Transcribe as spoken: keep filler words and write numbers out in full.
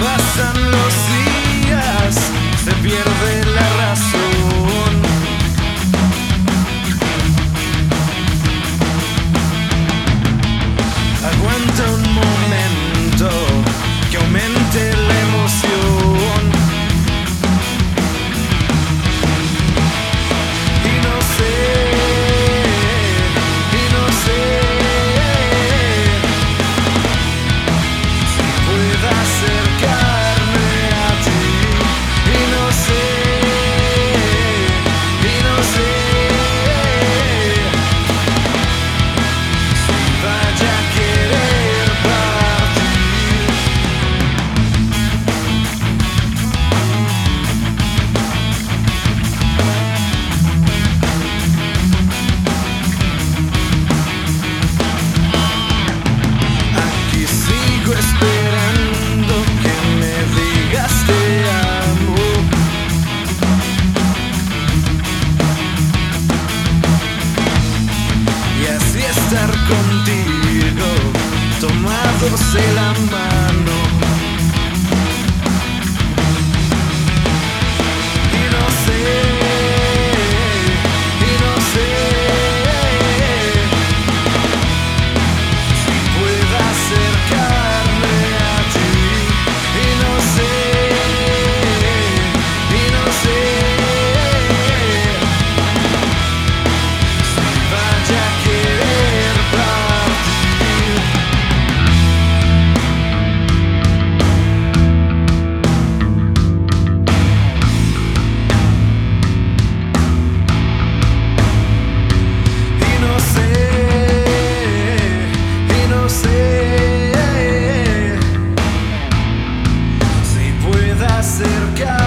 Pasan los días, se pierde la razón. Aguanta un momento, que aumente la emoción. Y no sé, y no sé si pueda acercarme a ti. Y no sé, y no sé si vaya a querer partir. Aquí sigo esperando que me digas te amo. Y así estar contigo, tomados de la mano. Y no sé, y no sé si pueda acercarme a ti. Y no sé, y no sé si vaya a querer partir. Y no sé, y no sé si pueda acercar